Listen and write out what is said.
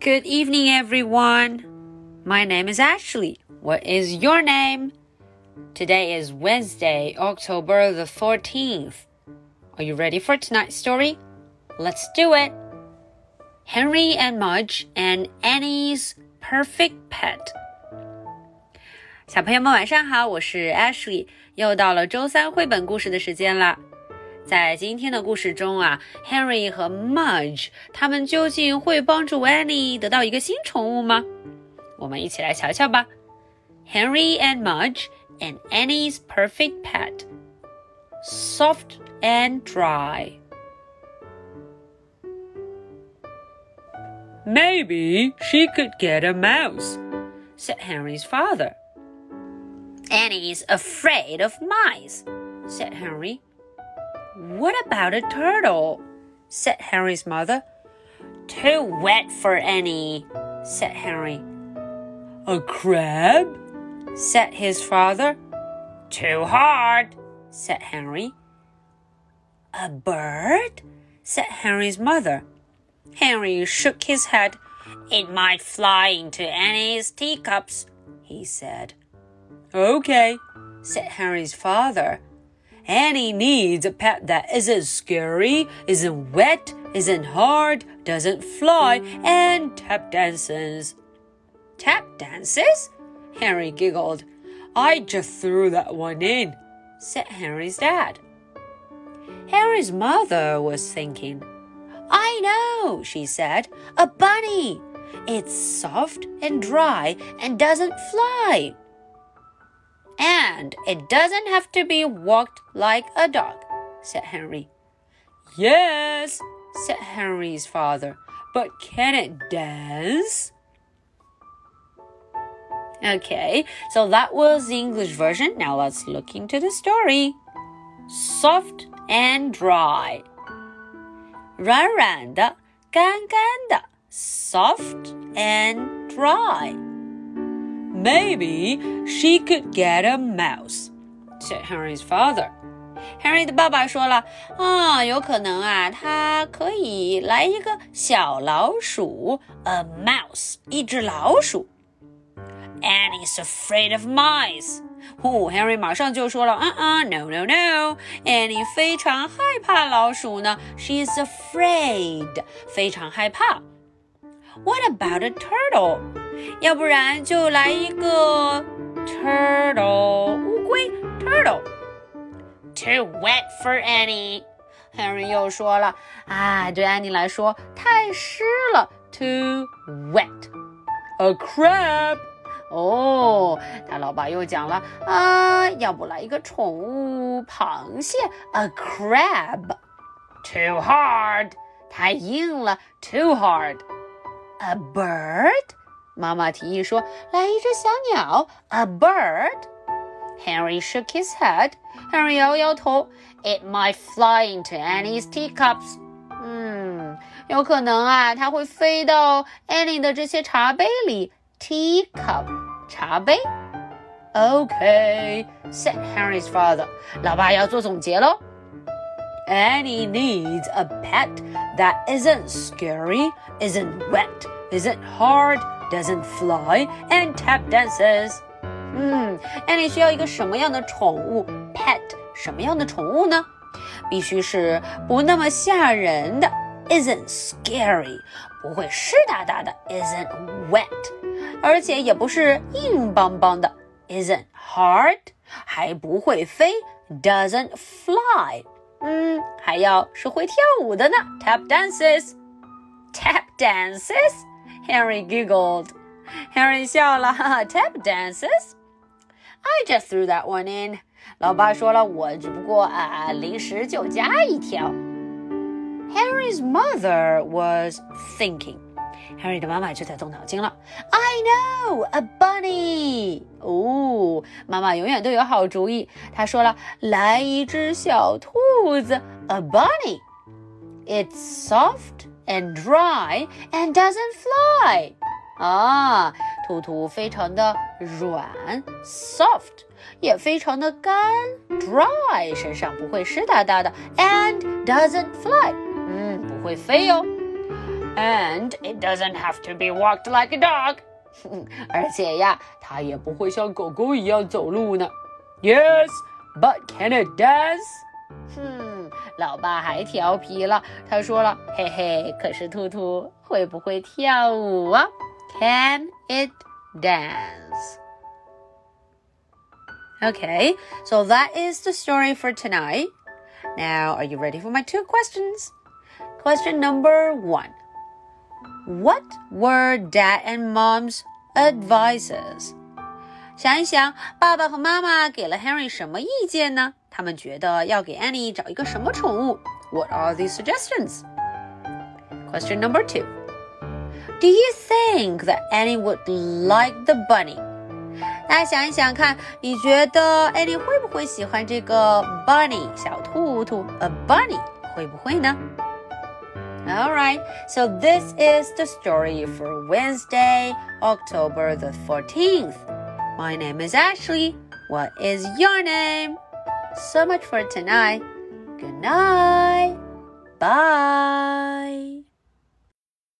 Good evening, everyone. My name is Ashley. What is your name? Today is Wednesday, October the 14th. Are you ready for tonight's story? Let's do it. Henry and Mudge and Annie's Perfect Pet. 小朋友们晚上好，我是 Ashley， 又到了周三绘本故事的时间了。在今天的故事中啊 Henry 和 Mudge 他们究竟会帮助 Annie 得到一个新宠物吗？我们一起来瞧瞧吧。 Henry and Mudge and Annie's Perfect Pet. Soft and dry. Maybe she could get a mouse, said Henry's father. Annie's afraid of mice, said Henry. What about a turtle? Said Henry's mother. Too wet for Annie, said Henry. A crab? Said his father. Too hard, said Henry. A bird? Said Henry's mother. Henry shook his head. It might fly into Annie's teacups, he said. Okay, said Henry's father. Annie needs a pet that isn't scary, isn't wet, isn't hard, doesn't fly, and tap dances. Tap dances? Henry giggled. I just threw that one in, said Henry's dad. Henry's mother was thinking. I know, she said. A bunny. It's soft and dry and doesn't fly. And it doesn't have to be walked like a dog, said Henry. Yes, said Henry's father, but can it dance? Okay, so that was the English version. Now let's look into the story. Soft and dry. 软软的，干干的 Soft and dry.Maybe she could get a mouse, said Henry's father. Henry 的爸爸说了，有可能啊，他可以来一个小老鼠 ，a mouse， 一只老鼠。Annie's afraid of mice. Henry 马上就说了，no, no, no. Annie 非常害怕老鼠呢 ，She's afraid， 非常害怕。What about a turtle?要不然就来一个 turtle 乌龟 turtle. Too wet for Annie. Henry 又说了对 Annie 来说太湿了 Too wet. A crab. 他老爸又讲了要不来一个宠物螃蟹 A crab. Too hard. 太硬了 Too hard. A bird?妈妈提议说来一只小鸟 A bird. Henry shook his head. Henry 摇摇头 It might fly into Annie's teacups. 有可能它会飞到 Annie 的这些茶杯里 Teacup 茶杯 Okay, said Henry's father. 老爸要做总结咯 Annie needs a pet that isn't scary, isn't wet, isn't hard,Doesn't fly and tap dances. Annie 需要一个什么样的宠物 Pet 什么样的宠物呢？必须是不那么吓人的 Isn't scary 不会湿哒哒的 Isn't wet 而且也不是硬邦邦的 Isn't hard 还不会飞 Doesn't fly 还要是会跳舞的呢 Tap dances. Tap dances?Henry giggled. Henry 笑了Tap dances? I just threw that one in. 老爸说了，我只不过临时就加一条。Henry's mother was thinking. Henry 的妈妈就在动脑筋了。I know, a bunny. 妈妈永远都有好主意。她说了，来一只小兔子 A bunny. It's soft.And dry and doesn't fly. 兔兔非常的软 soft 也非常的干 dry 身上不会湿哒哒的 and doesn't fly 不会飞哦 And it doesn't have to be walked like a dog. 而且呀，它也不会像狗狗一样走路呢。Yes, but can it dance? 老爸还调皮了，他说了，嘿嘿，可是兔兔会不会跳舞啊？ Can it dance? Okay, so that is the story for tonight. Now, are you ready for my 2 questions? Question number 1. What were Dad and Mom's advices? 想一想，爸爸和妈妈给了 Henry 什么意见呢？他们觉得要给 Annie 找一个什么宠物？ What are these suggestions? Question number 2. Do you think that Annie would like the bunny? 大家想一想看，你觉得 Annie 会不会喜欢这个 bunny 小兔兔 a bunny 会不会呢？ Alright, so this is the story for Wednesday, October the 14th. My name is Ashley. What is your name? So much for tonight. Good night. Bye.